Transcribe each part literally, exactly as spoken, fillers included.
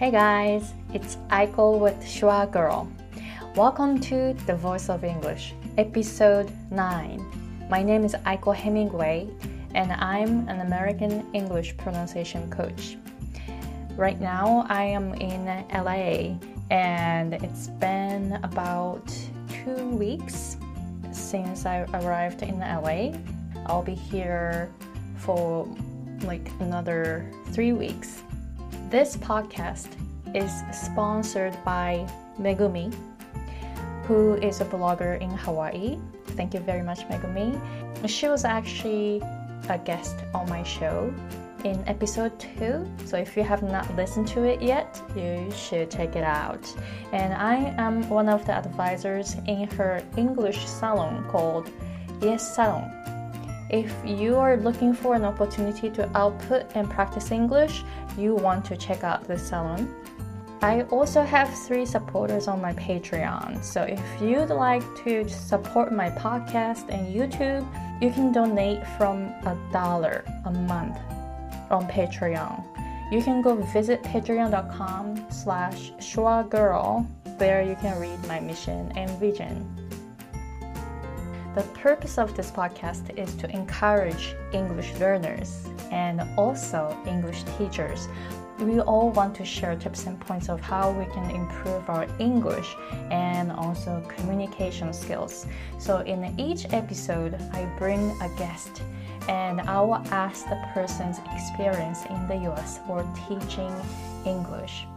Hey guys, it's Aiko with Shua Girl. Welcome to The Voice of English, Episode nine. My name is Aiko Hemingway, and I'm an American English pronunciation coach. Right now, I am in L A, and it's been about two weeks since I arrived in L A. I'll be here for like another three weeks. This podcast is sponsored by Megumi, who is a blogger in Hawaii. Thank you very much, Megumi. She was actually a guest on my show in episode two, so if you have not listened to it yet, you should check it out. And I am one of the advisors in her English salon called Yes Salon. If you are looking for an opportunity to output and practice English, you want to check out this salon. I also have three supporters on my Patreon, so if you'd like to support my podcast and YouTube, you can donate from a dollar a month on Patreon. You can go visit patreon.com slash shwagirl. There you can read my mission and vision. The purpose of this podcast is to encourage English learners and also English teachers. We all want to share tips and points of how we can improve our English and also communication skills. So in each episode, I bring a guest and I will ask the person's experience in the U S for teaching English.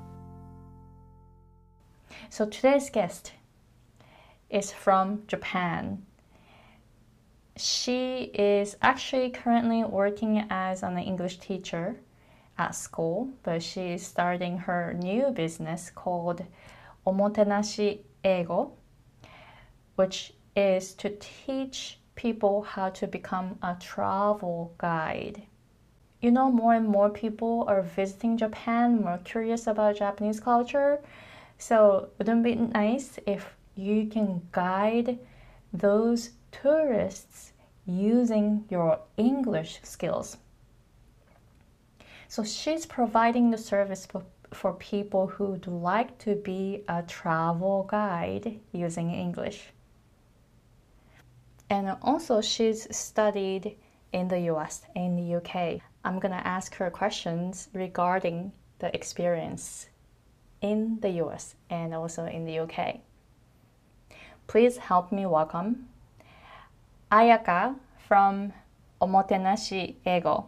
So today's guest is from Japan. She is actually currently working as an English teacher at school, but she is starting her new business called Omotenashi Eigo, which is to teach people how to become a travel guide. You know, more and more people are visiting Japan, more curious about Japanese culture. So wouldn't it be nice if you can guide those tourists using your English skills? So she's providing the service for, for people who would like to be a travel guide using English. And also she's studied in the U S and the U K. I'm gonna ask her questions regarding the experience in the U S and also in the U K. Please help me welcome Ayaka from Omotenashi Eigo.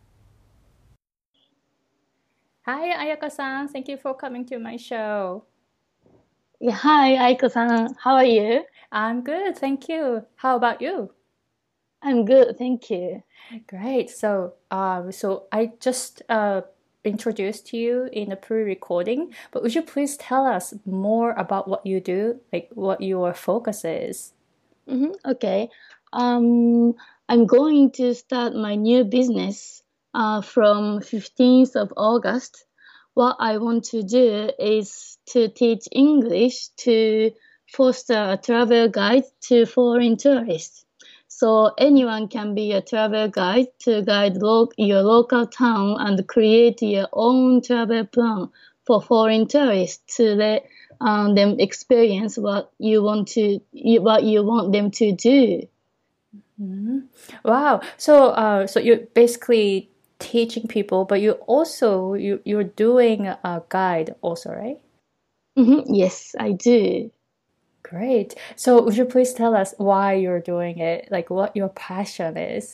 Hi, Ayaka-san. Thank you for coming to my show. Yeah, hi, Aiko-san. How are you? I'm good, thank you. How about you? I'm good, thank you. Great. So, uh, so I just uh, introduced you in the pre-recording, but would you please tell us more about what you do, like what your focus is? Mm-hmm, okay. Um, I'm going to start my new business uh, from fifteenth of August. What I want to do is to teach English to foster a travel guide to foreign tourists. So anyone can be a travel guide to guide lo- your local town and create your own travel plan for foreign tourists to let um, them experience what you want to what you want them to do. Mm-hmm. Wow. So, uh, so you're basically teaching people, but you also you you're doing a guide also, right? Mm-hmm. Yes, I do. Great. So would you please tell us why you're doing it, like what your passion is?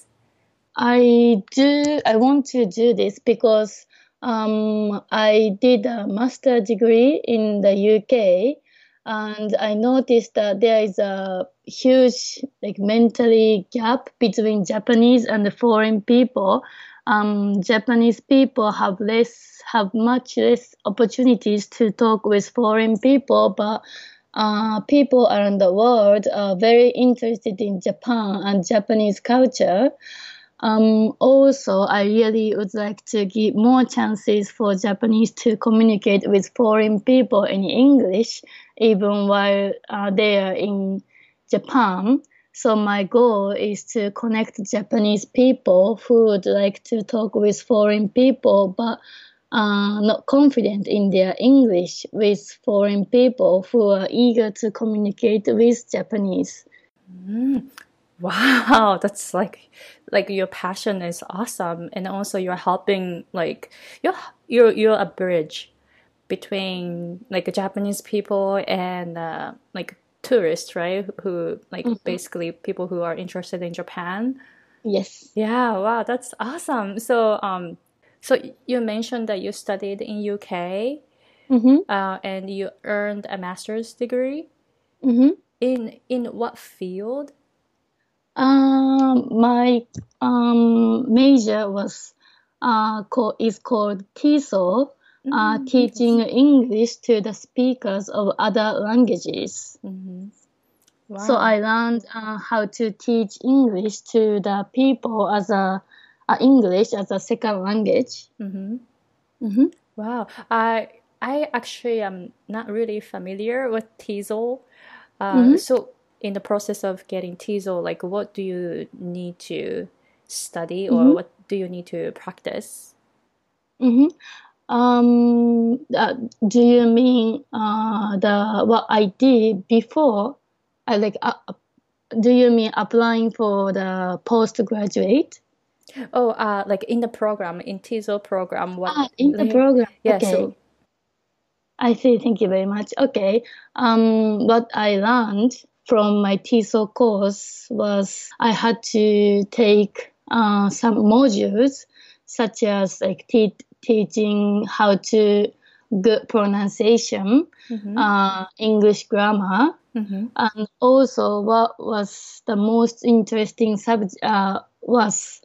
I do. I want to do this because um, I did a master degree in the U K, and I noticed that there is a huge like mentally gap between Japanese and the foreign people. Um, Japanese people have less, have much less opportunities to talk with foreign people, but uh, people around the world are very interested in Japan and Japanese culture. Um, also, I really would like to give more chances for Japanese to communicate with foreign people in English, even while uh, they are in Japan. So my goal is to connect Japanese people who would like to talk with foreign people, but uh, not confident in their English with foreign people who are eager to communicate with Japanese. Mm. Wow, that's like like your passion is awesome, and also you're helping like you're you're you're a bridge between like Japanese people and uh, like tourists, right? Who like Mhm. basically people who are interested in Japan. Yes. Yeah, wow, that's awesome. So um, so you mentioned that you studied in U K, Mm-hmm. uh, and you earned a master's degree Mm-hmm. in in what field? Um, my um, major was uh, co- is called TESOL, uh, Mm, teaching interesting. English to the speakers of other languages. Hmm. So Wow. I learned uh, how to teach English to the people as a uh, English as a second language. Hmm. Mm-hmm. Wow. I I actually am not really familiar with TESOL. Uh, Mm-hmm. so in the process of getting TESOL, like what do you need to study or Mm-hmm. what do you need to practice? Mm-hmm. Um, uh, do you mean uh, the what I did before? I like. Uh, do you mean applying for the postgraduate? Oh, uh, like in the program, in TESOL program, what Ah, in the they, program. yeah, Okay. so I see. Thank you very much. Okay. Um, what I learned from my TESOL course was I had to take uh, some modules such as like te- teaching how to good pronunciation, mm-hmm, uh, English grammar, mm-hmm, and also what was the most interesting subject uh, was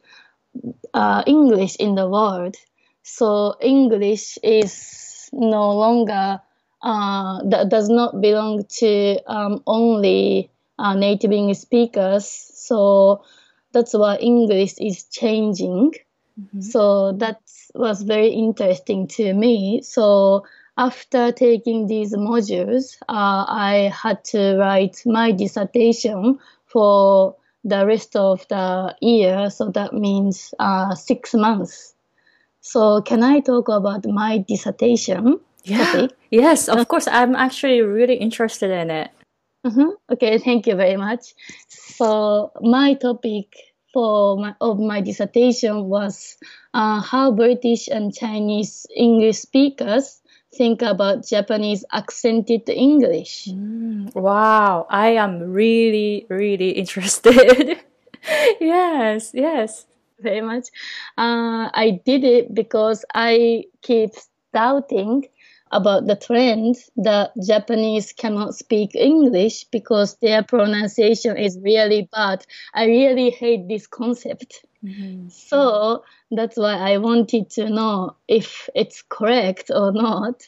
uh, English in the world. So English is no longer uh, that does not belong to um, only uh, native English speakers. So that's why English is changing. mm-hmm, So that was very interesting to me. So after taking these modules, uh, I had to write my dissertation for the rest of the year. So that means uh, six months. So can I talk about my dissertation yeah, topic? yes, of course. I'm actually really interested in it. Mhm. Okay, thank you very much. So my topic for my of my dissertation was uh, how British and Chinese English speakers think about Japanese accented English. Mm, wow, I am really, really interested. Yes, yes. Very much. Uh, I did it because I keep doubting about the trend that Japanese cannot speak English because their pronunciation is really bad. I really hate this concept. Mm-hmm. So that's why I wanted to know if it's correct or not.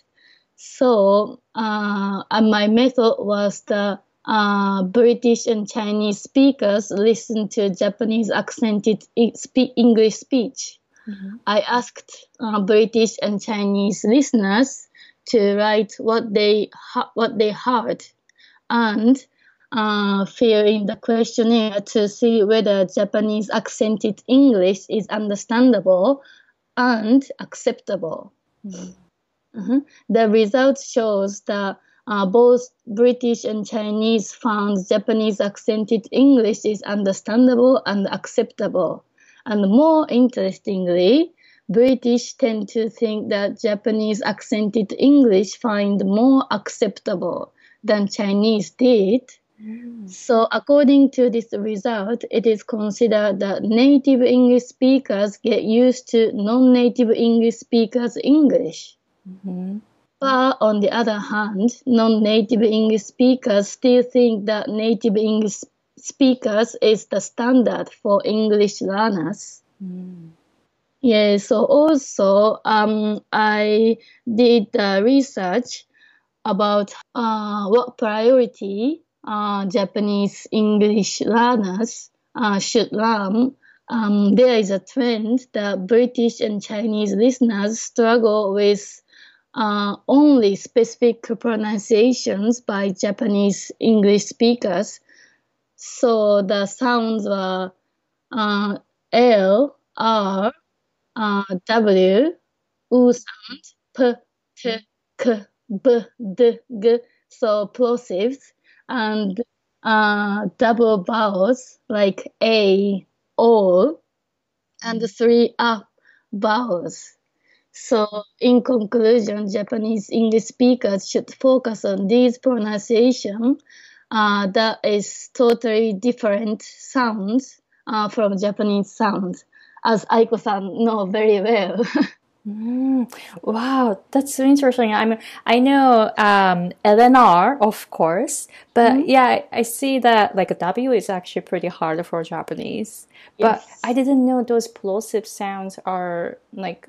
So uh, and my method was the uh, British and Chinese speakers listen to Japanese accented e- spe- English speech. Mm-hmm. I asked uh, British and Chinese listeners to write what they ha- what they heard and uh, fill in the questionnaire to see whether Japanese accented English is understandable and acceptable. Mm-hmm. Mhm. The result shows that uh, both British and Chinese found Japanese accented English is understandable and acceptable. And more interestingly, British tend to think that Japanese accented English find more acceptable than Chinese did. So, according to this result, it is considered that native English speakers get used to non native English speakers' English. Mm-hmm. But on the other hand, non-native English speakers still think that native English speakers is the standard for English learners. Mm-hmm. Yeah, so also um, I did uh, research about uh, what priority uh, Japanese English learners uh, should learn. Um, there is a trend that British and Chinese listeners struggle with uh, only specific pronunciations by Japanese English speakers. So the sounds were uh, L, R, uh, W, u sound, p, t, k, b, d, g, so plosives, and uh, double vowels like a, o, and three a vowels. So, in conclusion, Japanese English speakers should focus on these pronunciation uh, that is totally different sounds uh, from Japanese sounds, as Aiko-san know very well. Mm, wow, that's so interesting. I mean, I know um, L N R, of course, but Mhm. yeah, I, I see that like W is actually pretty hard for Japanese. But Yes. I didn't know those plosive sounds are like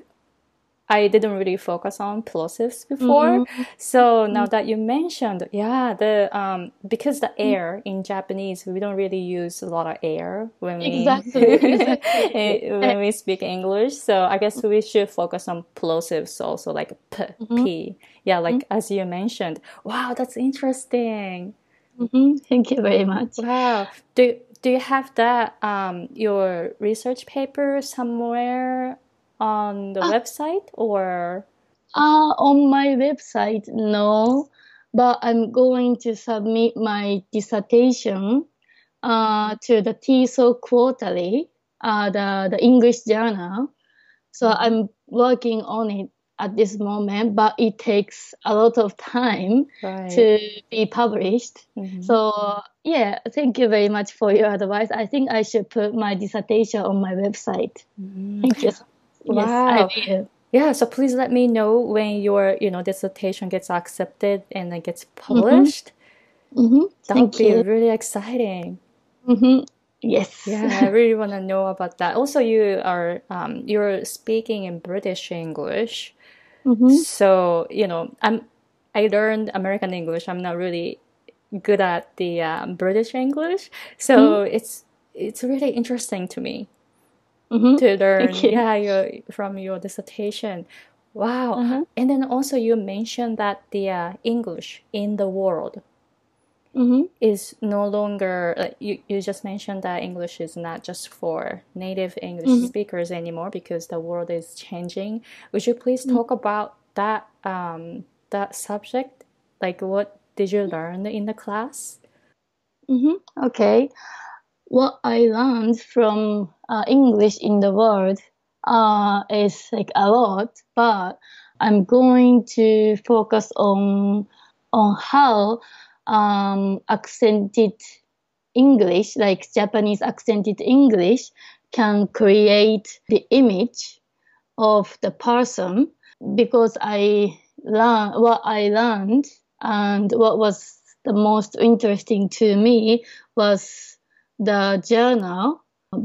I didn't really focus on plosives before. Mm-hmm. So now that you mentioned, yeah, the um because the air in Japanese, we don't really use a lot of air when we Exactly, exactly. when we speak English. So I guess we should focus on plosives also, like p, Mm-hmm. p. Yeah, like as you mentioned. Wow, that's interesting. Mm-hmm. Thank you very much. Wow. Do do you have that um your research paper somewhere on the Ah, website or uh, on my website, no, but I'm going to submit my dissertation uh, to the T E S O Quarterly, uh, the, the English journal. So I'm working on it at this moment, but it takes a lot of time right? to be published. Mhm. So yeah, thank you very much for your advice. I think I should put my dissertation on my website. Thank you so much. Yes, I Wow. will. Yeah, so please let me know when your, you know, dissertation gets accepted and it gets Mm-hmm. published. Mm-hmm. That would Thank be you. really exciting. Mm-hmm. Yes. Yeah, I really want to know about that. Also, you are um, you're speaking in British English. Mm-hmm. So, you know, I'm I learned American English. I'm not really good at the um, British English. So, it's it's really interesting to me Mm-hmm. to Thank learn, you. yeah, your from your dissertation. Wow. Uh-huh. And then also you mentioned that the uh, English in the world Mm-hmm. is no longer like you, you just mentioned that English is not just for native English Mm-hmm. speakers anymore because the world is changing. Would you please talk about that um that subject? Like what did you learn in the class? Mm-hmm. Okay. What I learned from uh, English in the world uh, is like a lot, but I'm going to focus on on how um, accented English, like Japanese accented English, can create the image of the person. Because I learned what I learned and what was the most interesting to me was the journal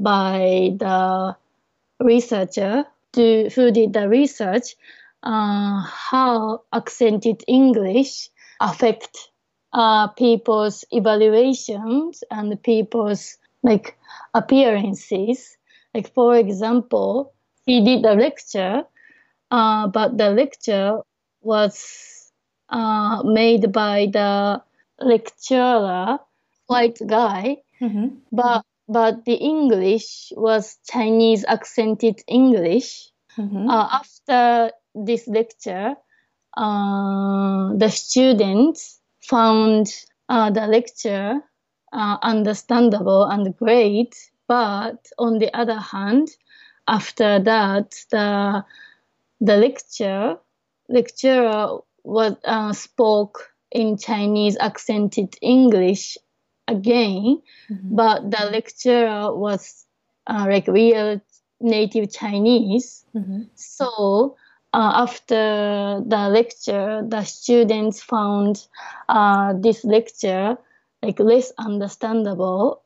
by the researcher to, who did the research, uh, how accented English affect uh, people's evaluations and people's like appearances. Like for example, he did a lecture, uh, but the lecture was uh, made by the lecturer, white guy, Mm-hmm. but but the English was Chinese accented English. Mm-hmm. Uh, after this lecture, uh, the students found uh, the lecture uh, understandable and great, but on the other hand, after that, the the lecture lecturer was uh, spoke in Chinese accented English again, Mm-hmm. but the lecturer was uh, like real native Chinese. Mm-hmm. So uh, after the lecture, the students found uh, this lecture like less understandable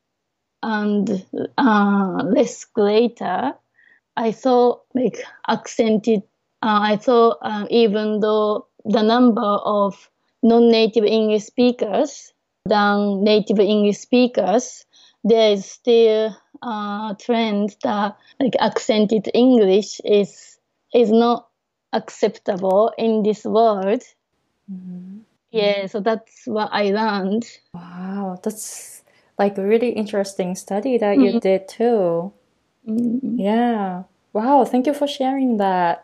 and uh, less greater. I thought like accented. Uh, I thought uh, even though the number of non-native English speakers than native English speakers, there is still a trend that like accented English is is not acceptable in this world. Mm-hmm. Yeah, so that's what I learned. Wow, that's like a really interesting study that you Mm, did too. mm, Yeah. Wow, thank you for sharing that.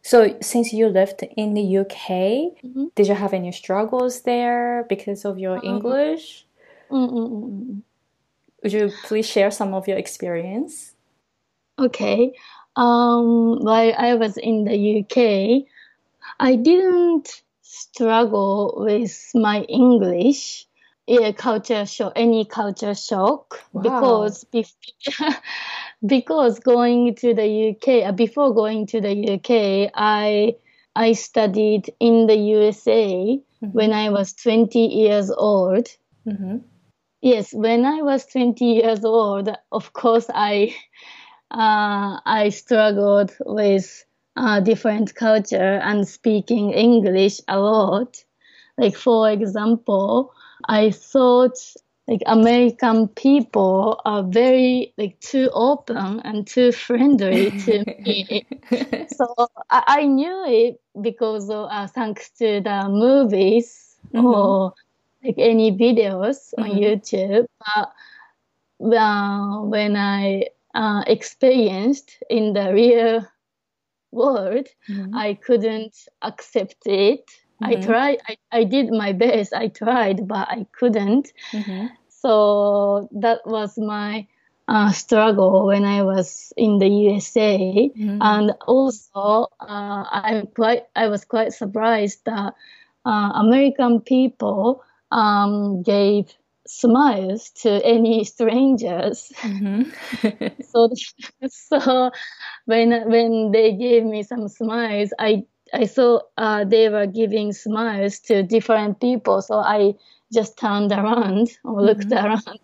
So since you lived in the U K, Mm-hmm. did you have any struggles there because of your English? Mm-mm-mm. Would you please share some of your experience? Okay. Um, while I was in the U K, I didn't struggle with my English, yeah, culture shock, any culture shock, Wow. because bef- because going to the U K, uh, before going to the U K, I I studied in the U S A when I was twenty years old. Mm-hmm. Yes, when I was twenty years old, of course, I uh, I struggled with uh, different culture and speaking English a lot. Like, for example, I thought like American people are very like too open and too friendly to me. So I, I knew it because of, uh, thanks to the movies Mm-hmm. or like any videos on Mm-hmm. YouTube. But well, when I uh, experienced in the real world, Mm-hmm. I couldn't accept it. I Mm-hmm. tried, I, I did my best, I tried, but I couldn't. Mm-hmm. So that was my uh, struggle when I was in the U S A. Mm-hmm. And also, uh, I'm quite, I was quite surprised that uh, American people um, gave smiles to any strangers. Mm-hmm. So, so when when they gave me some smiles, I I saw uh, they were giving smiles to different people. So I just turned around or looked Mm-hmm. around.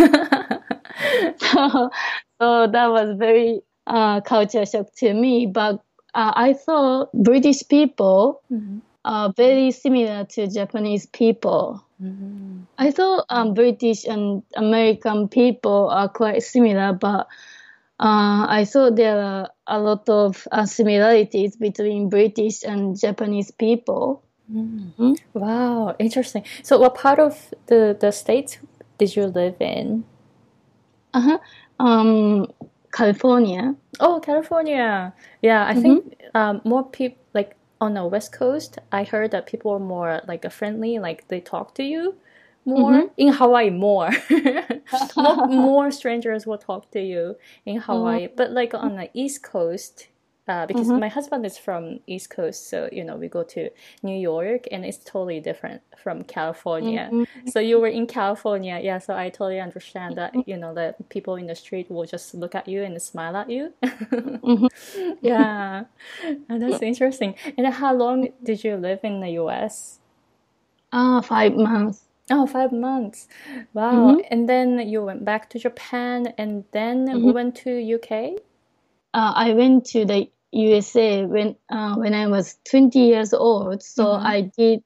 so, so that was very uh, culture shock to me. But uh, I thought British people Mm-hmm. are very similar to Japanese people. Mm-hmm. I thought um, British and American people are quite similar, but uh, I thought there are a lot of uh, similarities between British and Japanese people. Mm. Wow, interesting. So what part of the, the states did you live in? Uh-huh. Um, California. Oh, California. Yeah, I Mm-hmm. think um, more people like on the West Coast, I heard that people are more like friendly, like they talk to you more. Mm-hmm. In Hawaii, more. more more strangers will talk to you in Hawaii. But like on the East Coast, uh, because Mm-hmm. my husband is from East Coast, so you know we go to New York, and it's totally different from California. Mm-hmm. So you were in California, yeah. So I totally understand Mm-hmm. that you know that people in the street will just look at you and smile at you. Mm-hmm. Yeah, and that's interesting. And how long did you live in the U S? Ah, five months. Oh, five months. Wow. Mm-hmm. And then you went back to Japan and then Mm-hmm. went to U K? Uh, I went to the U S A when uh, when I was twenty years old. So Mm-hmm. I did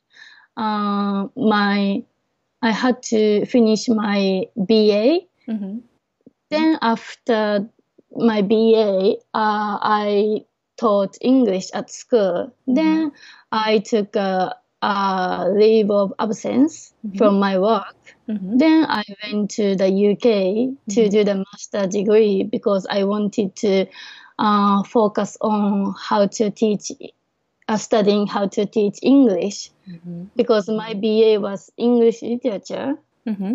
uh, my I had to finish my B A. Mm-hmm. Then after my B A, uh, I taught English at school. Mm-hmm. Then I took a, a leave of absence Mm-hmm. from my work. Mm-hmm. Then I went to the U K to Mm-hmm. do the master degree because I wanted to uh, focus on how to teach, uh, studying how to teach English. Mm-hmm. Because my B A was English literature. Mm-hmm.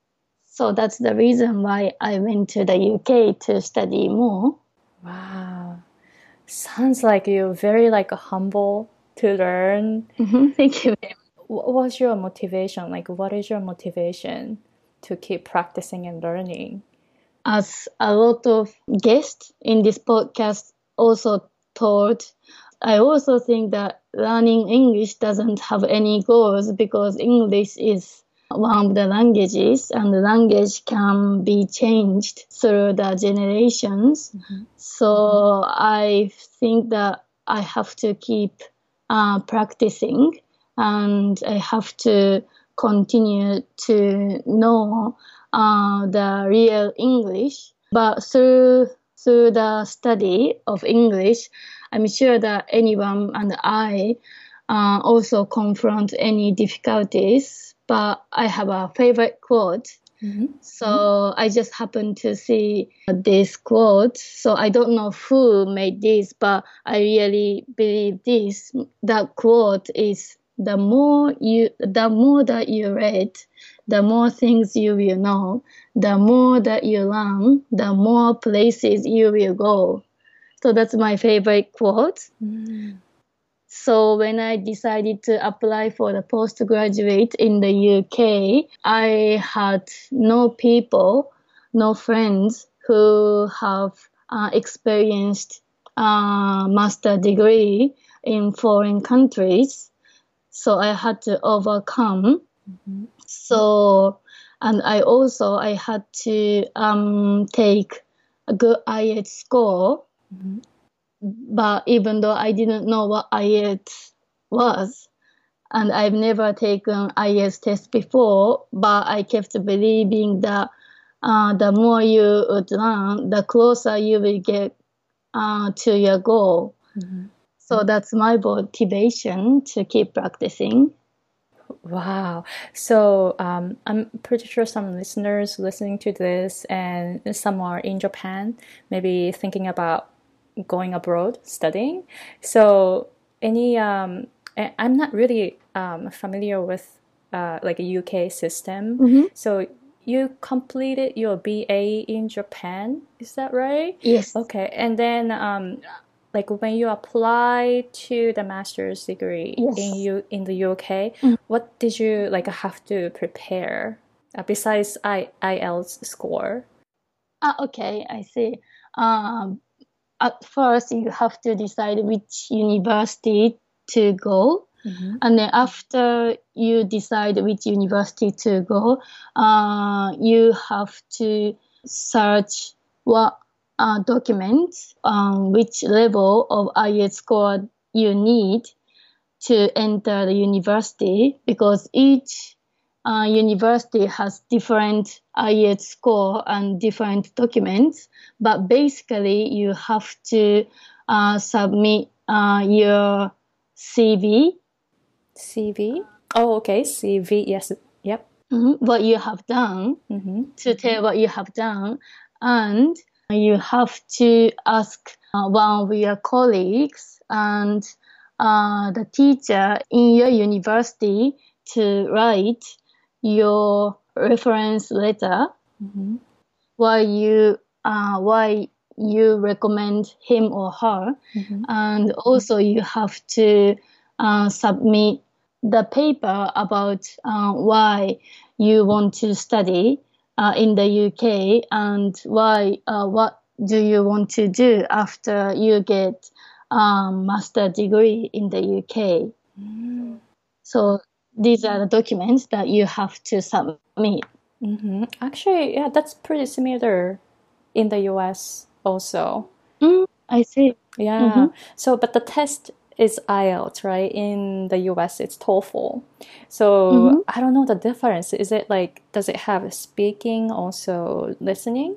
So that's the reason why I went to the U K to study more. Wow. Sounds like you're very like humble to learn. Mm-hmm. Thank you very much. What was your motivation? Like, what is your motivation to keep practicing and learning? As a lot of guests in this podcast also told, I also think that learning English doesn't have any goals because English is one of the languages and the language can be changed through the generations. Mm-hmm. So I think that I have to keep uh, practicing and I have to continue to know uh, the real English. But through through the study of English, I'm sure that anyone and I uh, also confront any difficulties. But I have a favorite quote Mm-hmm. So I just happened to see this quote. So I don't know who made this, but I really believe this. That quote is the more you, the more that you read, the more things you will know, the more that you learn, the more places you will go. So that's my favorite quote. Mm-hmm. So when I decided to apply for the postgraduate in the U K, I had no people, no friends who have uh, experienced a master degree in foreign countries. So I had to overcome. Mm-hmm. So, and I also, I had to um, take a good I E L T S score. Mm-hmm. But even though I didn't know what I E L T S was, and I've never taken I E L T S test before, but I kept believing that uh, the more you would learn, the closer you will get uh, to your goal. Mm-hmm. So that's my motivation to keep practicing. Wow. So um, I'm pretty sure some listeners listening to this and some are in Japan, maybe thinking about going abroad studying. So any um, I- I'm not really um, familiar with uh, like a U K system. Mm-hmm. So you completed your B A in Japan, is that right? Yes. Okay. And then um, like when you apply to the master's degree Yes. in you in the U K, Mm. what did you like have to prepare uh, besides I IELTS score? Ah, okay, I see. Um, at first, you have to decide which university to go. Mm-hmm. And then after you decide which university to go, uh, you have to search what uh, documents, um, which level of I E L T S score you need to enter the university, because each uh, university has different I E L T S score and different documents. But basically, you have to uh, submit uh, your C V. C V? Oh, okay. C V. Yes. Yep. Mm-hmm. What you have done, Mm-hmm. to tell what you have done, and you have to ask uh, one of your colleagues and uh, the teacher in your university to write your reference letter, Mm-hmm. why you uh, why you recommend him or her, Mm-hmm. and also you have to uh, submit the paper about uh, why you want to study uh, in the U K, and why uh, what do you want to do after you get a master degree in the U K. Mm-hmm. So these are the documents that you have to submit. Mm-hmm. Actually, yeah, that's pretty similar in the U S also. Mm, I see. Yeah. Mm-hmm. So, but the test is IELTS, right? In the U S, it's TOEFL. So Mm-hmm. I don't know the difference. Is it like, does it have speaking, also listening?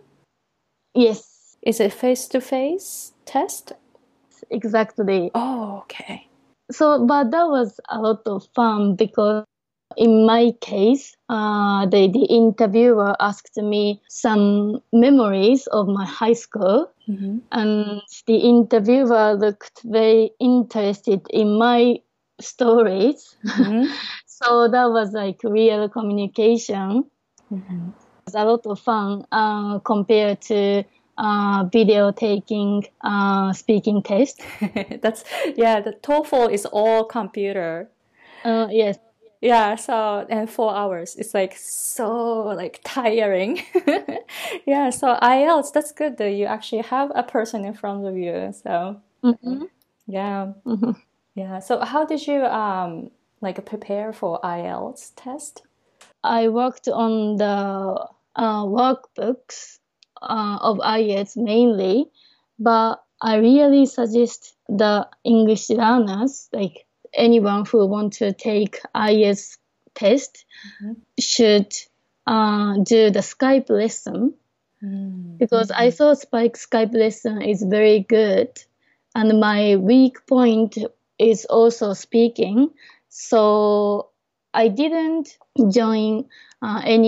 Yes, Is it face-to-face test? exactly. Oh, okay. So, but that was a lot of fun, because in my case, uh, the, the interviewer asked me some memories of my high school, Mm-hmm. and the interviewer looked very interested in my stories. Mm-hmm. So that was like real communication. Mm-hmm. It's a lot of fun uh, compared to uh, video taking uh, speaking test. That's, yeah, the TOEFL is all computer. Uh, yes. Yeah, so and four hours. It's like so like tiring. Yeah, so IELTS, that's good that you actually have a person in front of you. So Mm-hmm. yeah, Mm-hmm. yeah. So how did you um like prepare for IELTS test? I worked on the uh, workbooks uh, of I E L T S mainly, but I really suggest the English learners, like anyone who want to take I E L T S test, Mm-hmm. should uh, do the Skype lesson, Mm. because I thought Spike Skype lesson is very good, and my weak point is also speaking. So I didn't join uh, any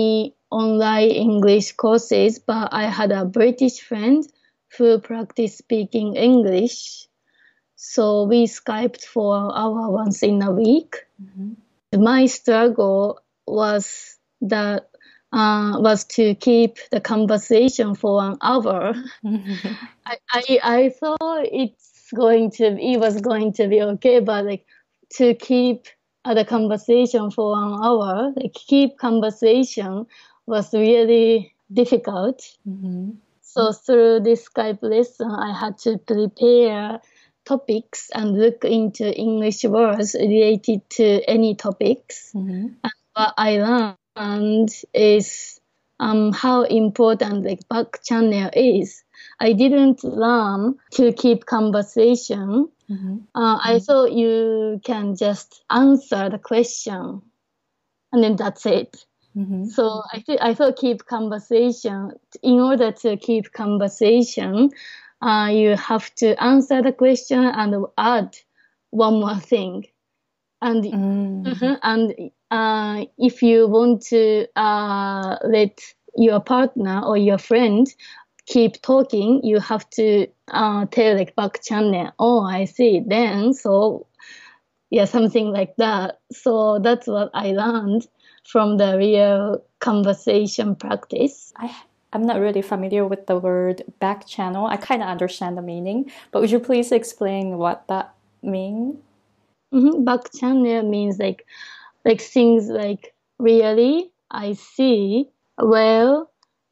online English courses, but I had a British friend who practiced speaking English. So we Skyped for an hour once in a week. Mm-hmm. My struggle was that uh, was to keep the conversation for an hour. Mm-hmm. I, I I thought it's going to it was going to be okay, but like to keep uh, the conversation for an hour, like keep conversation was really difficult. Mm-hmm. So through this Skype lesson, I had to prepare topics and look into English words related to any topics. Mm-hmm. And what I learned is um, how important like back channel is. I didn't learn to keep conversation. Mm-hmm. Uh, I mm-hmm. thought you can just answer the question, and then that's it. Mm-hmm. So I th- I thought keep conversation. In order to keep conversation, uh, you have to answer the question and add one more thing. And mm-hmm. and uh, if you want to uh, let your partner or your friend keep talking, you have to uh, tell like back channel. Oh, I see. Then so yeah, something like that. So that's what I learned from the real conversation practice. I, I'm not really familiar with the word back channel. I kind of understand the meaning, but would you please explain what that means? Mm-hmm. Back channel means like, like things like really, I see, well,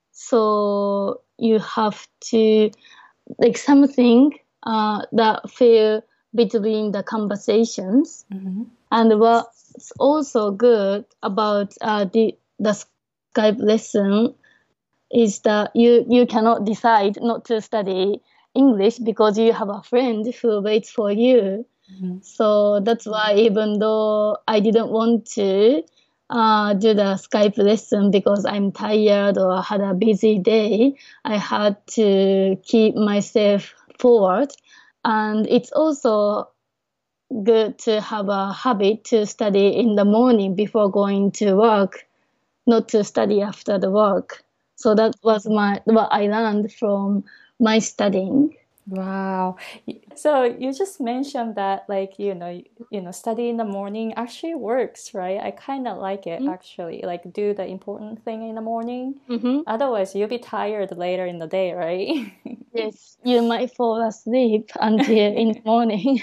so you have to, like something uh, that feel between the conversations. Mm-hmm. And what's also good about uh, the the Skype lesson is that you, you cannot decide not to study English because you have a friend who waits for you. Mm-hmm. So that's why even though I didn't want to uh, do the Skype lesson because I'm tired or had a busy day, I had to keep myself forward. And it's also good to have a habit to study in the morning before going to work, not to study after the work. So that was my what I learned from my studying. Wow. So you just mentioned that like, you know, you know, study in the morning actually works, right? I kind of like it mm-hmm. actually, like do the important thing in the morning. Mm-hmm. Otherwise you'll be tired later in the day, right? Yes, you might fall asleep until in the morning.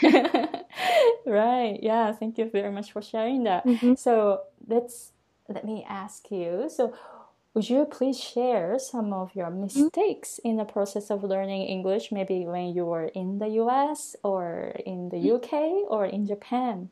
Right. Yeah. Thank you very much for sharing that. Mm-hmm. So let's, let me ask you. So would you please share some of your mistakes mm-hmm. in the process of learning English, maybe when you were in the U S or in the U K or in Japan?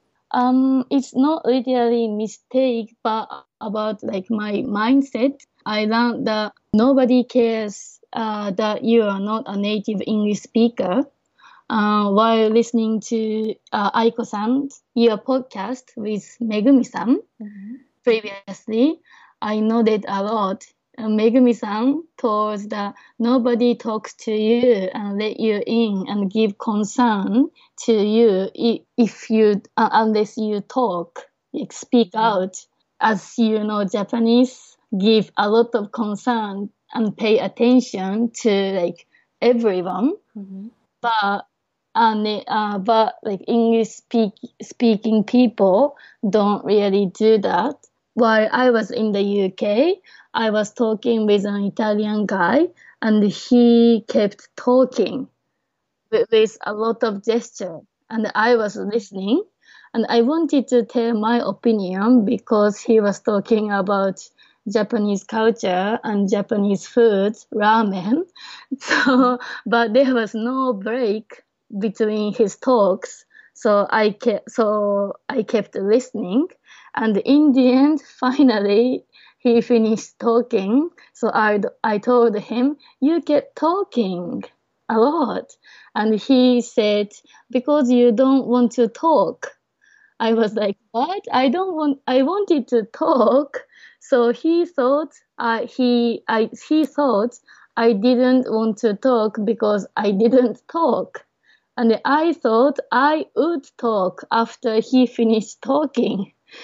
Um, it's not literally mistake, but about like my mindset. I learned that nobody cares uh, that you are not a native English speaker. Uh, while listening to uh, Aiko-san, your podcast with Megumi-san mm-hmm. previously, I noted a lot. Uh, Megumi-san told that nobody talks to you and let you in and give concern to you if you uh, unless you talk, like speak mm-hmm. out. As you know, Japanese give a lot of concern and pay attention to like everyone, mm-hmm. but and uh, but like English speak, speaking people don't really do that. While I was in the U K, I was talking with an Italian guy, and he kept talking with, with a lot of gesture, and I was listening, and I wanted to tell my opinion because he was talking about Japanese culture and Japanese food, ramen. So, but there was no break between his talks, so I kept so I kept listening, and in the end, finally he finished talking. So I I told him, "You kept talking a lot," and he said, "Because you don't want to talk." I was like, "What? I don't want. I wanted to talk." So he thought uh, he I he thought I didn't want to talk because I didn't talk. And I thought I would talk after he finished talking.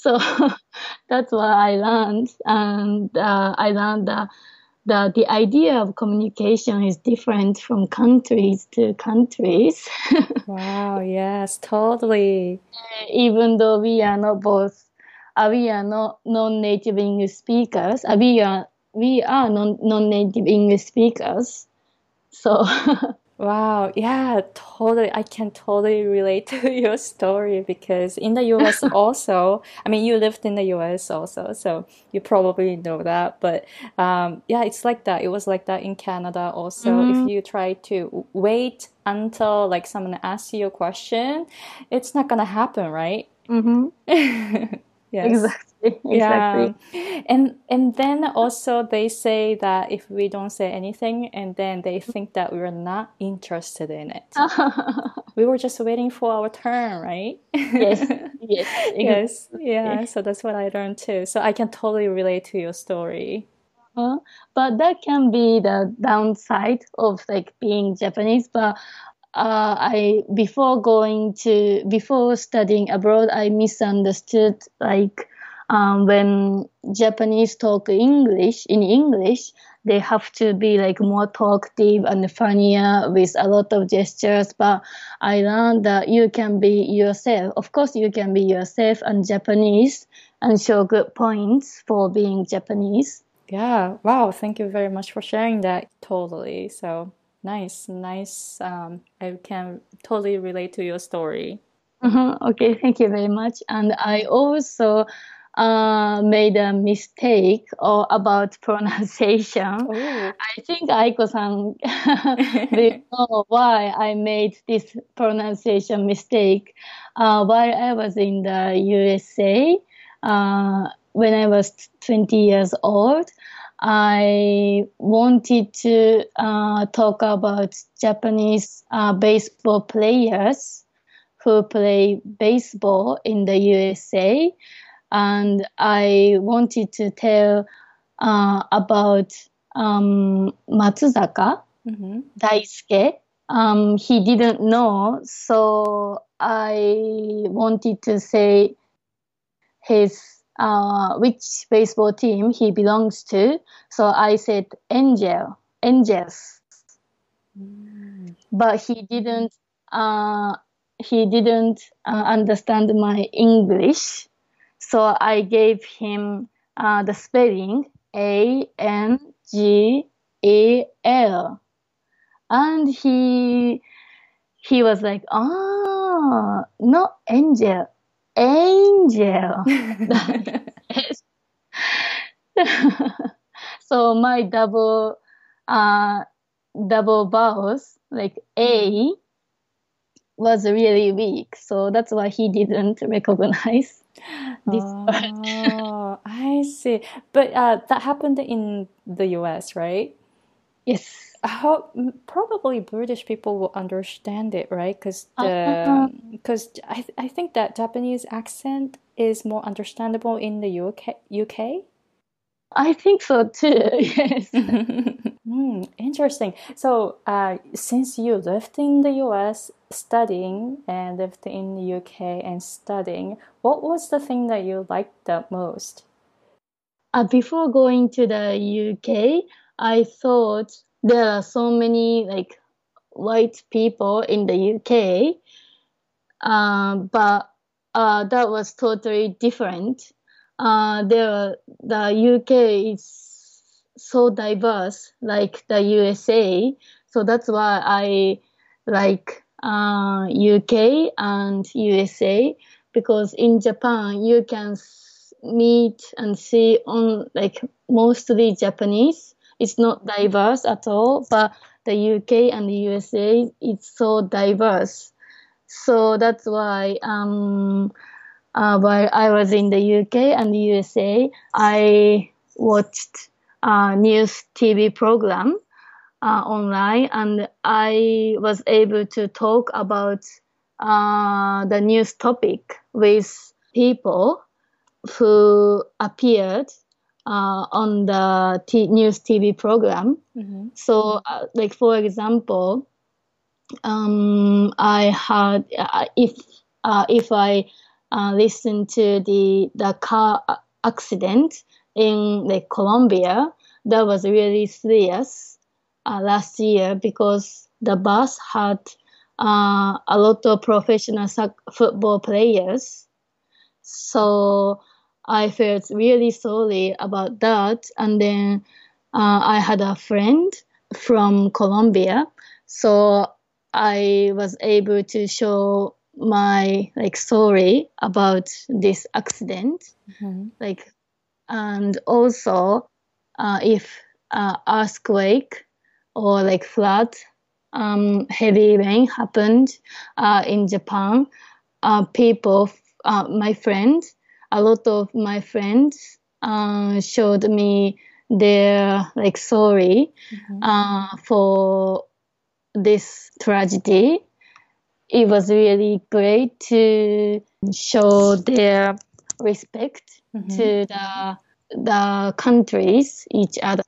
So that's what I learned, and uh, I learned that the the idea of communication is different from countries to countries. Wow, yes, totally. Even though we are not both, uh, we are not non-native English speakers. Uh, we are we are non non-native English speakers. So Wow, yeah, totally. I can totally relate to your story because in the U S also, I mean, you lived in the U S also, so you probably know that. But um, yeah, it's like that. It was like that in Canada also. If Mhm, you try to wait until like someone asks you a question, it's not gonna happen, right? mhm. Yes. Exactly, Yeah. exactly. And and then also they say that if we don't say anything and then they think that we're not interested in it. We were just waiting for our turn, right? Yes, yes, Yes. exactly. Yeah. So that's what I learned too. So I can totally relate to your story. Uh, but that can be the downside of like being Japanese. But uh, I before going to before studying abroad, I misunderstood like um, when Japanese talk English in English, they have to be like more talkative and funnier with a lot of gestures. But I learned that you can be yourself. Of course, you can be yourself and Japanese and show good points for being Japanese. Yeah. Wow. Thank you very much for sharing that. Totally. So nice, nice. Um, I can totally relate to your story. Mhm. Okay, thank you very much. And I also uh, made a mistake or about pronunciation. Oh. I think Aiko-san will know why I made this pronunciation mistake. Uh, while I was in the U S A, uh, when I was twenty years old, I wanted to uh, talk about Japanese uh, baseball players who play baseball in the U S A, and I wanted to tell uh, about um, Matsuzaka Mm-hmm. Daisuke. Um, he didn't know, so I wanted to say his uh, which baseball team he belongs to. So I said Angel, Angels, Mm. but he didn't. Uh, he didn't uh, understand my English. So I gave him uh, the spelling A N G A L, and he he was like, "Ah, not angel, angel." So my double uh double vowels like A was really weak. So that's why he didn't recognize this word. Oh, I see. But uh, that happened in the U S, right? Yes. How m- probably British people will understand it, right? Because Uh, the because I I think that Japanese accent is more understandable in the U K U K. I think so too. Yes. Hmm, interesting. So, uh, since you lived in the U S studying and lived in the U K and studying, what was the thing that you liked the most? Uh, before going to the U K, I thought there are so many like white people in the U K, um, but uh, that was totally different. Uh, there, the U K is so diverse, like the U S A. So that's why I like uh, U K and U S A, because in Japan you can s- meet and see on like mostly Japanese. It's not diverse at all, but the U K and the U S A it's so diverse. So that's why um, uh, while I was in the U K and the U S A, I watched a news T V program uh, online, and I was able to talk about uh, the news topic with people who appeared uh, on the t- news T V program. Mm-hmm. So, uh, like for example, um, I had uh, if uh, if I uh, listened to the the car accident in like Colombia. That was really serious uh, last year because the bus had uh, a lot of professional sac- football players. So I felt really sorry about that. And then uh, I had a friend from Colombia, so I was able to show my like story about this accident, Mm-hmm. like, and also uh, if uh, earthquake or like flood, um, heavy rain happened uh, in Japan, uh, people, uh, my friends, a lot of my friends uh, showed me their like sorry Mm-hmm. uh, for this tragedy. It was really great to show their respect Mm-hmm. to the the countries, each other.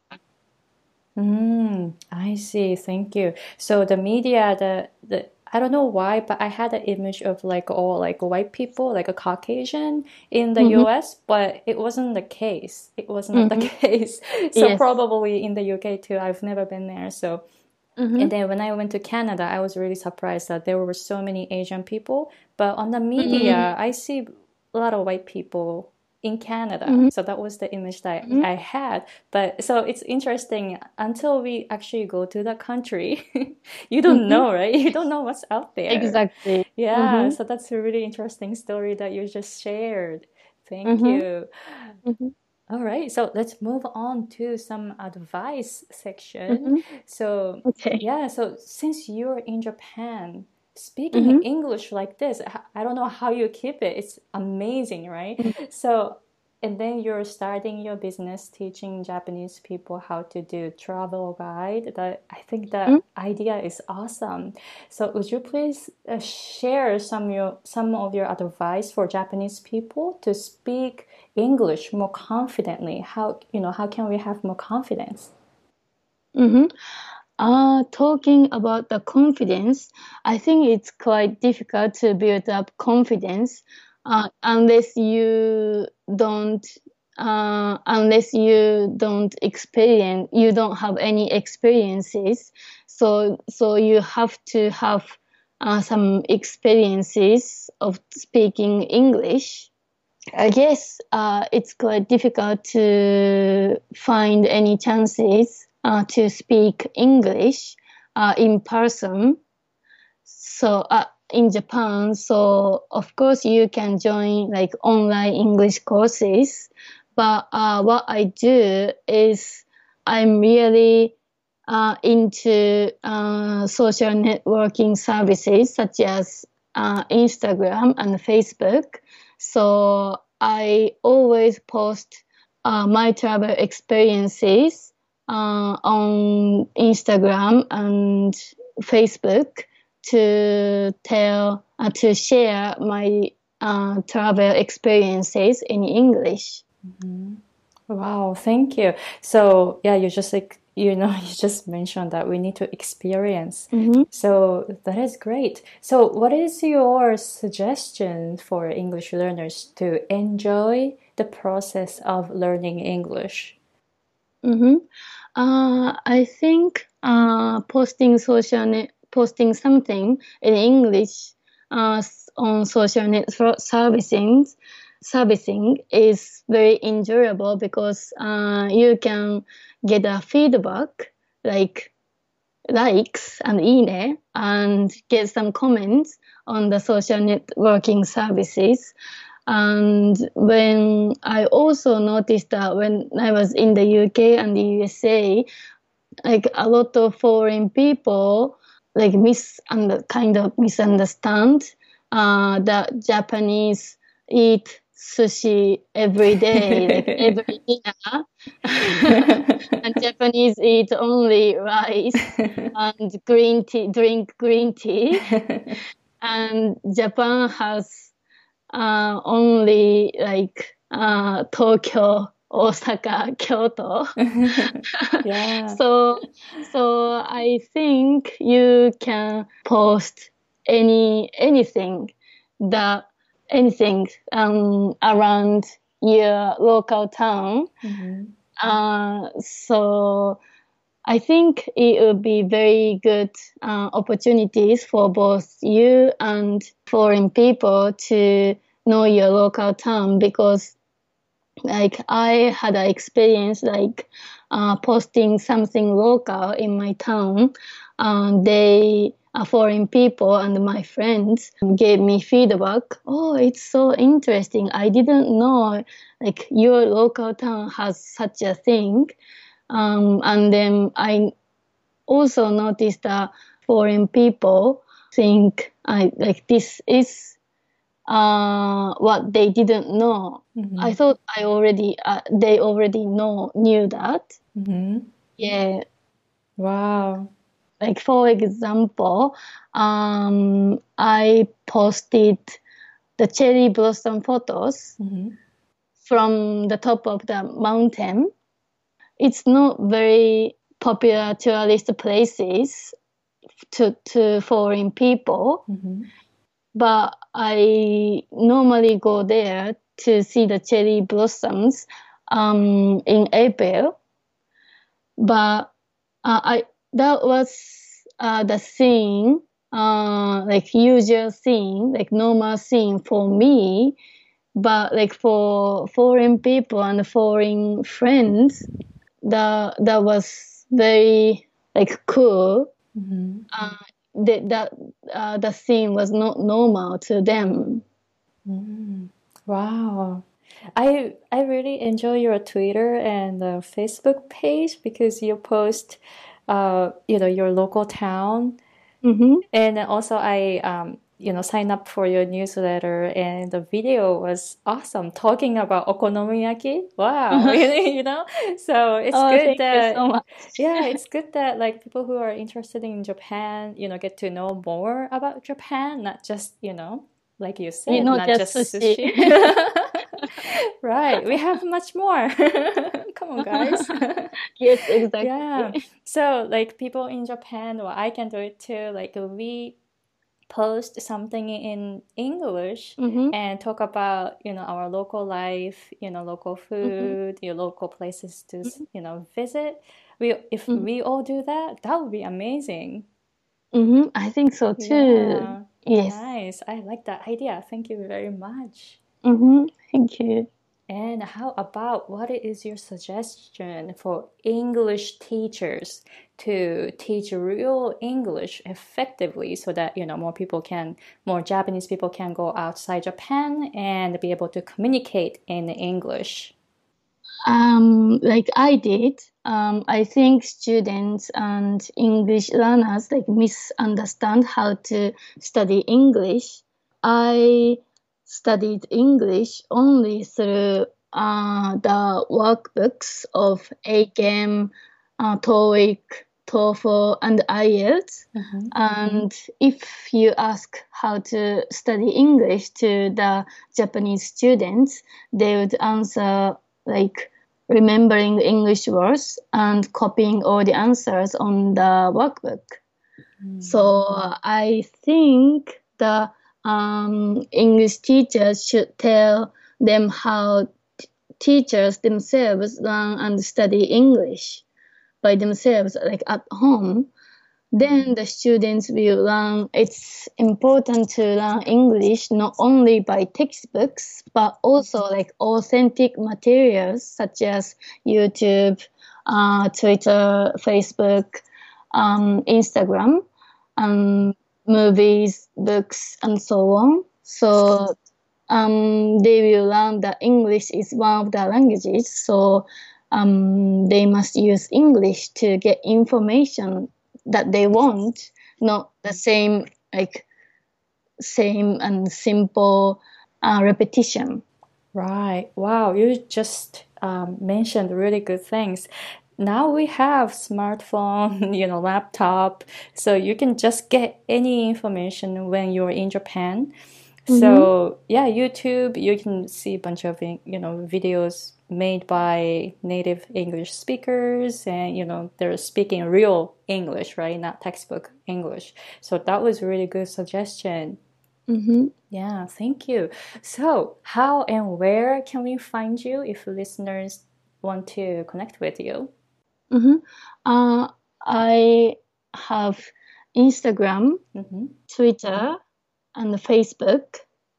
Mm, I see. Thank you. So the media, the the I don't know why, but I had an image of like all like white people, like a Caucasian in the Mm-hmm, U S, but it wasn't the case. It was not the mm-hmm, case. So yes. probably in the U K too. I've never been there. So Mm-hmm, and then when I went to Canada, I was really surprised that there were so many Asian people. But on the media, I see a lot of white people in Canada. mm-hmm, So that was the image that mm-hmm, I had. But so it's interesting until we actually go to the country, you don't mm-hmm. know, right? You don't know what's out there. Exactly. Yeah, Mm-hmm, so that's a really interesting story that you just shared. Thank mm-hmm, you. mm-hmm, All right, so let's move on to some advice section. mm-hmm. So, Okay. yeah, so since you're in Japan, speaking Mm-hmm, English like this, h- I don't know how you keep it. It's amazing, right? mm-hmm, So, and then you're starting your business teaching Japanese people how to do travel guide. That I think the idea is awesome. So, would you please uh, share some your some of your advice for Japanese people to speak English more confidently? How you know how can we have more confidence? mm-hmm. Uh, talking about the confidence, I think it's quite difficult to build up confidence uh, unless you don't uh, unless you don't experience you don't have any experiences. So so you have to have uh, some experiences of speaking English. I guess uh, it's quite difficult to find any chances uh, to speak English uh, in person. So uh, in Japan, so of course you can join like online English courses. But uh, what I do is I'm really uh, into uh, social networking services such as uh, Instagram and Facebook. So I always post uh, my travel experiences uh, on Instagram and Facebook to tell uh, to share my uh, travel experiences in English. Mhm. Wow, thank you. So yeah, you just like you know you just mentioned that we need to experience. Mm-hmm. So that is great. So what is your suggestion for English learners to enjoy the process of learning English? Mm-hmm. Uh, I think uh, posting social net, posting something in English uh, on social network servicing servicing is very enjoyable because uh, you can get a feedback like likes and ine and get some comments on the social networking services. And when I also noticed that when I was in the U K and the U S A, like a lot of foreign people like mis and kind of misunderstand uh, that Japanese eat sushi every day, like every dinner, and Japanese eat only rice and green tea, drink green tea, and Japan has uh, only like uh, Tokyo, Osaka, Kyoto. Yeah. so, so I think you can post any anything that anything um, around your local town. Mm-hmm. Uh, so I think it would be very good uh, opportunities for both you and foreign people to know your local town, because like I had an experience like uh, posting something local in my town. Um, they uh, foreign people and my friends gave me feedback. Oh, it's so interesting. I didn't know like your local town has such a thing. Um, and then I also noticed that foreign people think I like this is uh, what they didn't know. Mm-hmm. I thought I already uh, they already know knew that. Mm-hmm. Yeah. Wow. Like for example, um, I posted the cherry blossom photos Mm-hmm. from the top of the mountain. It's not very popular tourist places to to foreign people, Mm-hmm. but I normally go there to see the cherry blossoms um, in April. But uh, I that was uh, the scene, uh, like usual scene, like normal scene for me. But like for foreign people and foreign friends, that that was very like cool. Mm-hmm. Uh, that that uh, the scene was not normal to them. Mm. Wow. I I really enjoy your Twitter and uh, Facebook page because you post, uh, you know, your local town, Mm-hmm. and then also I um, you know, sign up for your newsletter, and the video was awesome talking about okonomiyaki. Wow, you know, so it's Oh, good thank you that so much. yeah, it's good that like people who are interested in Japan, you know, get to know more about Japan, not just, you know, like you You said, know, not just just sushi. sushi. Right, we have much more. Come on, guys. Yes, exactly. Yeah. So, like people in Japan, well, I can do it too. Like we post something in English Mm-hmm. and talk about, you know, our local life, you know, local Mm-hmm. food, your local places to, you know, visit. We if Mm-hmm. we all do that, that would be amazing. Mm-hmm. I think so too. Yeah. Yes. Nice. I like that idea. Thank you very much. Mm-hmm. Thank you. And how about what is your suggestion for English teachers to teach real English effectively so that, you know, more people can, more Japanese people can go outside Japan and be able to communicate in English? Um, like I did, um, I think students and English learners like misunderstand how to study English. I studied English only through uh, the workbooks of A C E M, uh, TOEIC, TOEFL, and I E L T S. Mm-hmm. And if you ask how to study English to the Japanese students, they would answer like remembering English words and copying all the answers on the workbook. Mm-hmm. So I think the um, English teachers should tell them how t- teachers themselves learn and study English by themselves, like at home. Then the students will learn. It's important to learn English not only by textbooks, but also like authentic materials such as YouTube, uh, Twitter, Facebook, um, Instagram, um, movies, books, and so on. So um, they will learn that English is one of the languages. So um, they must use English to get information that they want, not the same like same and simple uh, repetition. Right. Wow, you just um, mentioned really good things. Now we have smartphone, you know, laptop, so you can just get any information when you're in Japan. Mm-hmm. So yeah, YouTube, you can see a bunch of, you know, videos made by native English speakers, and you know they're speaking real English, right? Not textbook English. So that was a really good suggestion. Mm-hmm. Yeah, thank you. So, how and where can we find you if listeners want to connect with you? Mm-hmm. Uh, I have Instagram, Mm-hmm. Twitter, and Facebook.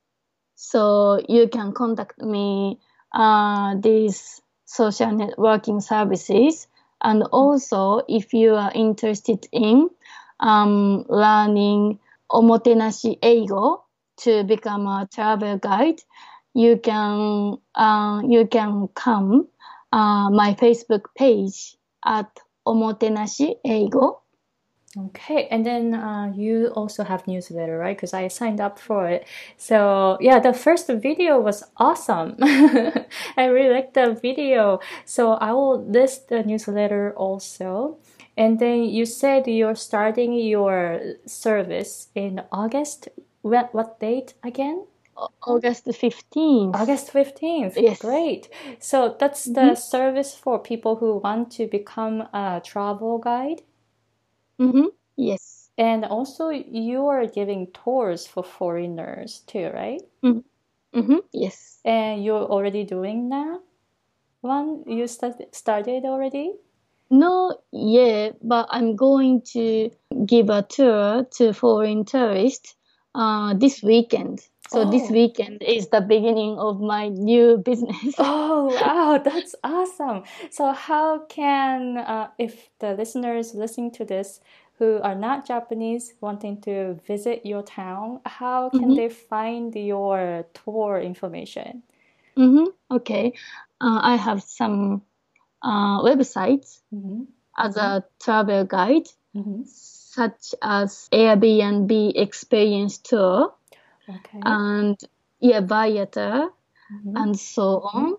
So you can contact me uh, these social networking services. And also, if you are interested in um, learning omotenashi eigo to become a travel guide, you can uh, you can come uh, my Facebook page at omotenashi eigo. Okay, and then uh, you also have newsletter, right? Because I signed up for it. So yeah, the first video was awesome. I really liked the video. So I will list the newsletter also. And then you said you're starting your service in August. What, what date again? August fifteenth. August fifteenth. Yes. Great. So that's Mm-hmm. the service for people who want to become a travel guide. Mm-hmm. Yes. And also, you are giving tours for foreigners too, right? Mm-hmm. Mm-hmm. Yes. And you're already doing that one? You start, started already? No, yeah, but I'm going to give a tour to foreign tourists uh, this weekend. So this Oh, weekend is the beginning of my new business. oh, wow, that's awesome. So, how can, uh, if the listeners listening to this who are not Japanese wanting to visit your town, how can Mm-hmm. they find your tour information? Mm-hmm. Okay. Uh, I have some uh, websites Mm-hmm. as a travel guide, Mm-hmm. such as Airbnb Experience Tour Okay. and yeah, Viator Mm-hmm. and so on.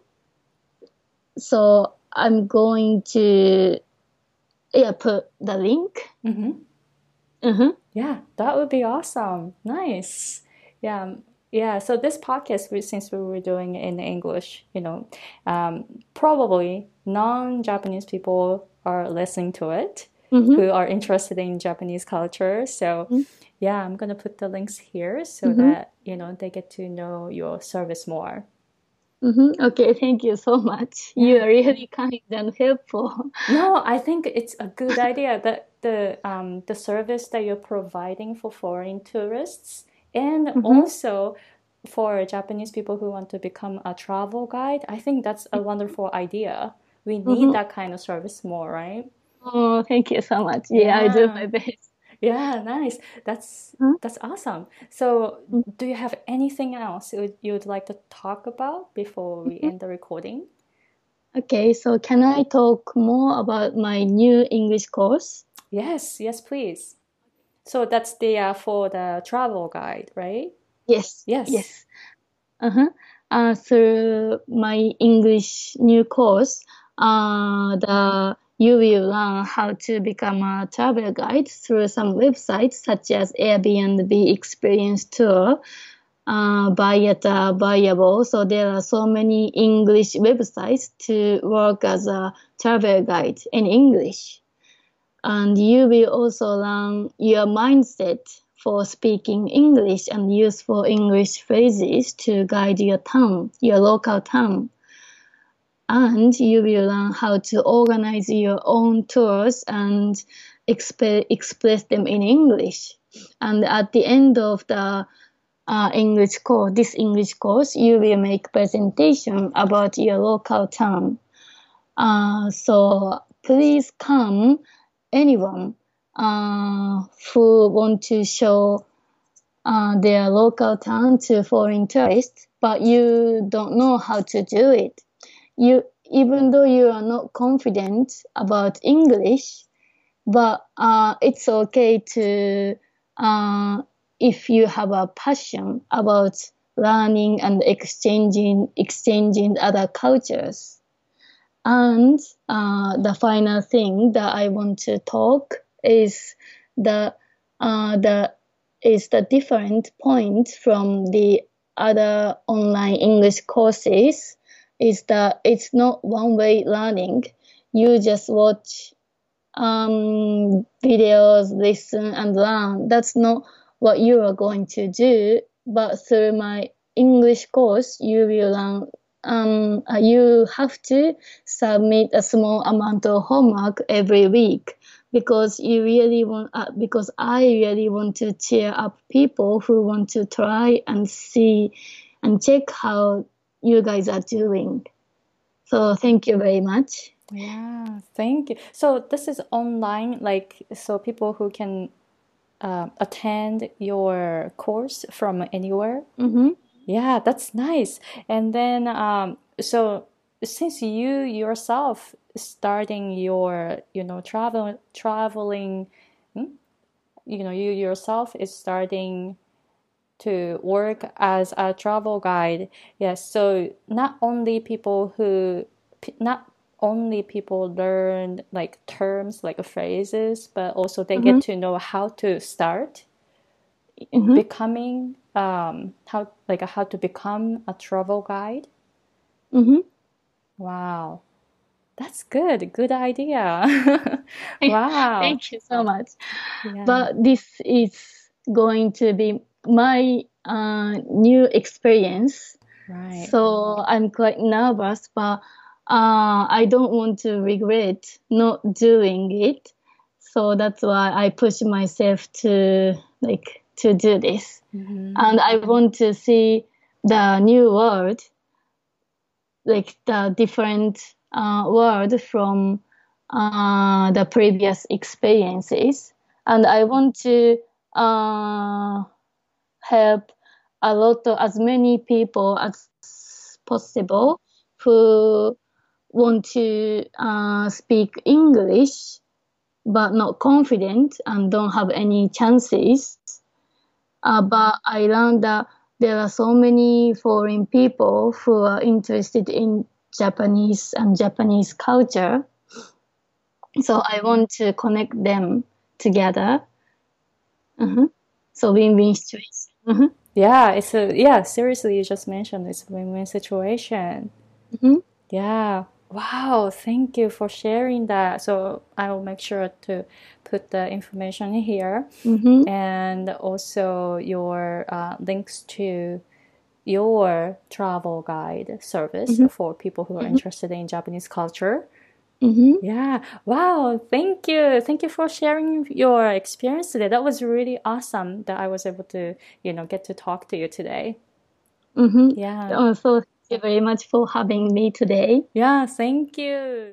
So I'm going to yeah put the link. Mm-hmm. Mm-hmm. Yeah, that would be awesome. Nice. Yeah, um, yeah. So this podcast, we, since we were doing it in English, you know, um, probably non-Japanese people are listening to it Mm-hmm. who are interested in Japanese culture. So, yeah, I'm gonna put the links here so Mm-hmm. that you know they get to know your service more. Mm-hmm. Okay, thank you so much. You Yeah. are really kind and helpful. No, I think it's a good idea that the um, the service that you're providing for foreign tourists and Mm-hmm. also for Japanese people who want to become a travel guide. I think that's a wonderful idea. We need Mm-hmm. that kind of service more, right? Oh, thank you so much. Yeah, I do Yeah. my best. Yeah, nice. That's Huh? that's awesome. So, do you have anything else you would, you would like to talk about before we Mhm. end the recording? Okay, so can I talk more about my new English course? Yes, yes, please. So that's the uh, for the travel guide, right? Yes, Yes. yes. Uh-huh. Uh, through my English new course, uh, the you will learn how to become a travel guide through some websites such as Airbnb Experience Tour, uh, Viator, Viable. So there are so many English websites to work as a travel guide in English. And you will also learn your mindset for speaking English and useful English phrases to guide your tongue, your local tongue. And you will learn how to organize your own tours and exp- express them in English. And at the end of the uh, English course, this English course, you will make presentation about your local town. Uh, so please come, anyone uh, who want to show uh, their local town to foreign tourists, but you don't know how to do it. You, even though you are not confident about English, but uh, it's okay to, uh, if you have a passion about learning and exchanging, exchanging other cultures. And uh, the final thing that I want to talk is the uh, the is the different point from the other online English courses is that it's not one way learning. You just watch um, videos, listen and learn. That's not what you are going to do but through my English course, you will learn. Um, uh, you have to submit a small amount of homework every week because you really want. Uh, because I really want to cheer up people who want to try and see and check how you guys are doing. So thank you very much. Yeah, thank you. So this is online, like, so people who can uh, attend your course from anywhere. Mm-hmm. Yeah, that's nice. And then, um, so since you yourself starting your, you know, travel traveling, hmm? you know, you yourself is starting to work as a travel guide. Yes, so not only people who, not only people learn like terms, like phrases, but also they Mm-hmm. get to know how to start Mm-hmm. becoming, um, how like how to become a travel guide. Mm-hmm. Wow, that's good. Good idea. Wow. Thank you so much. Yeah. But this is going to be my uh, new experience. Right. So I'm quite nervous, but uh, I don't want to regret not doing it. So that's why I push myself to like to do this. Mm-hmm. And I want to see the new world, like the different uh, world from uh, the previous experiences. And I want to uh, help a lot of as many people as possible who want to uh, speak English but not confident and don't have any chances. Uh, but I learned that there are so many foreign people who are interested in Japanese and Japanese culture. So I want to connect them together. Uh-huh. So win-win situation. Uh-huh. Yeah, it's a yeah, seriously, you just mentioned it's a win-win situation. Mm-hmm. Yeah. Wow, thank you for sharing that. So I will make sure to put the information in here Mm-hmm. and also your uh, links to your travel guide service Mm-hmm. for people who are Mm-hmm. interested in Japanese culture. Mm-hmm. Yeah. Wow. Thank you. Thank you for sharing your experience today. That was really awesome that I was able to, you know, get to talk to you today. Mm-hmm. Yeah. Uh, so thank you very much for having me today. Yeah. Thank you.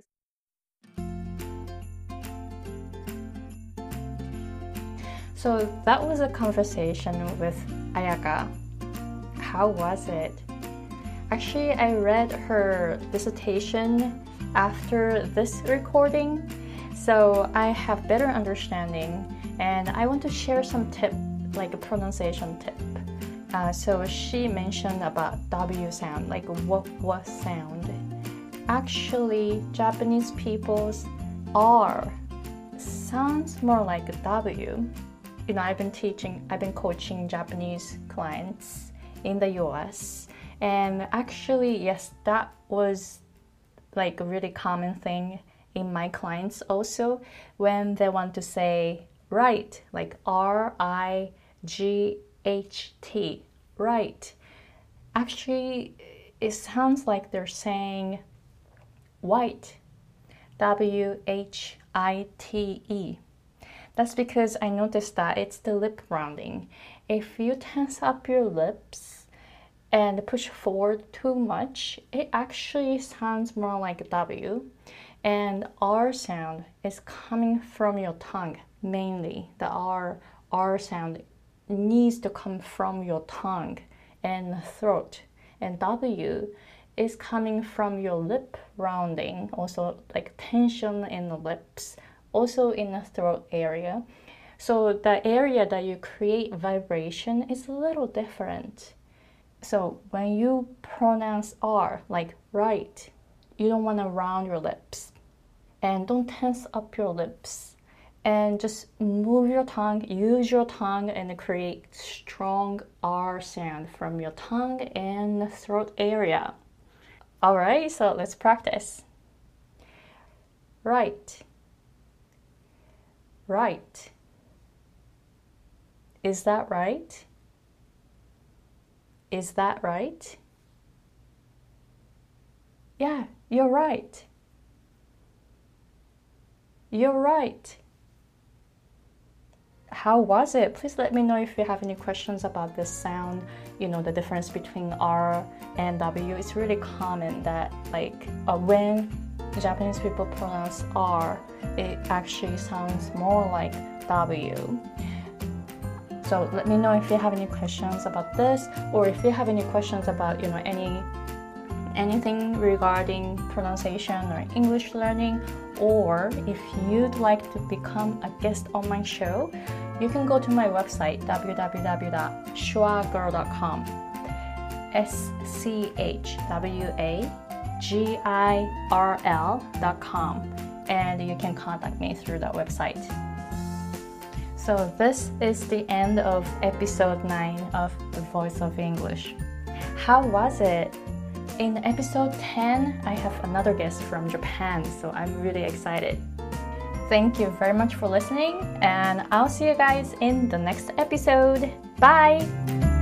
So that was a conversation with Ayaka. How was it? Actually, I read her dissertation after this recording, so I have better understanding, and I want to share some tip, like a pronunciation tip. Uh, so she mentioned about W sound, like what what sound. Actually, Japanese people's R sounds more like a W. You know, I've been teaching, I've been coaching Japanese clients in the U S, and actually, yes, that was like a really common thing in my clients also when they want to say right, like R I G H T, right. Actually, it sounds like they're saying white, W H I T E. That's because I noticed that it's the lip rounding. If you tense up your lips and push forward too much, it actually sounds more like a W. And R sound is coming from your tongue mainly. The R, R sound needs to come from your tongue and throat. And W is coming from your lip rounding, also like tension in the lips, also in the throat area. So the area that you create vibration is a little different. So when you pronounce R, like right, you don't want to round your lips. And don't tense up your lips. And just move your tongue, use your tongue, and create strong R sound from your tongue and the throat area. All right, so let's practice. Right. Right. Is that right? Is that right? Yeah, you're right. You're right. How was it? Please let me know if you have any questions about this sound, you know, the difference between R and W. It's really common that like uh, when Japanese people pronounce R, it actually sounds more like W. So let me know if you have any questions about this, or if you have any questions about, you know, any anything regarding pronunciation or English learning, or if you'd like to become a guest on my show, you can go to my website w w w dot schwa girl dot com. S C H W A G I R L dot com, and you can contact me through that website. So this is the end of episode nine of The Voice of English. How was it? In episode ten, I have another guest from Japan, so I'm really excited. Thank you very much for listening, and I'll see you guys in the next episode. Bye!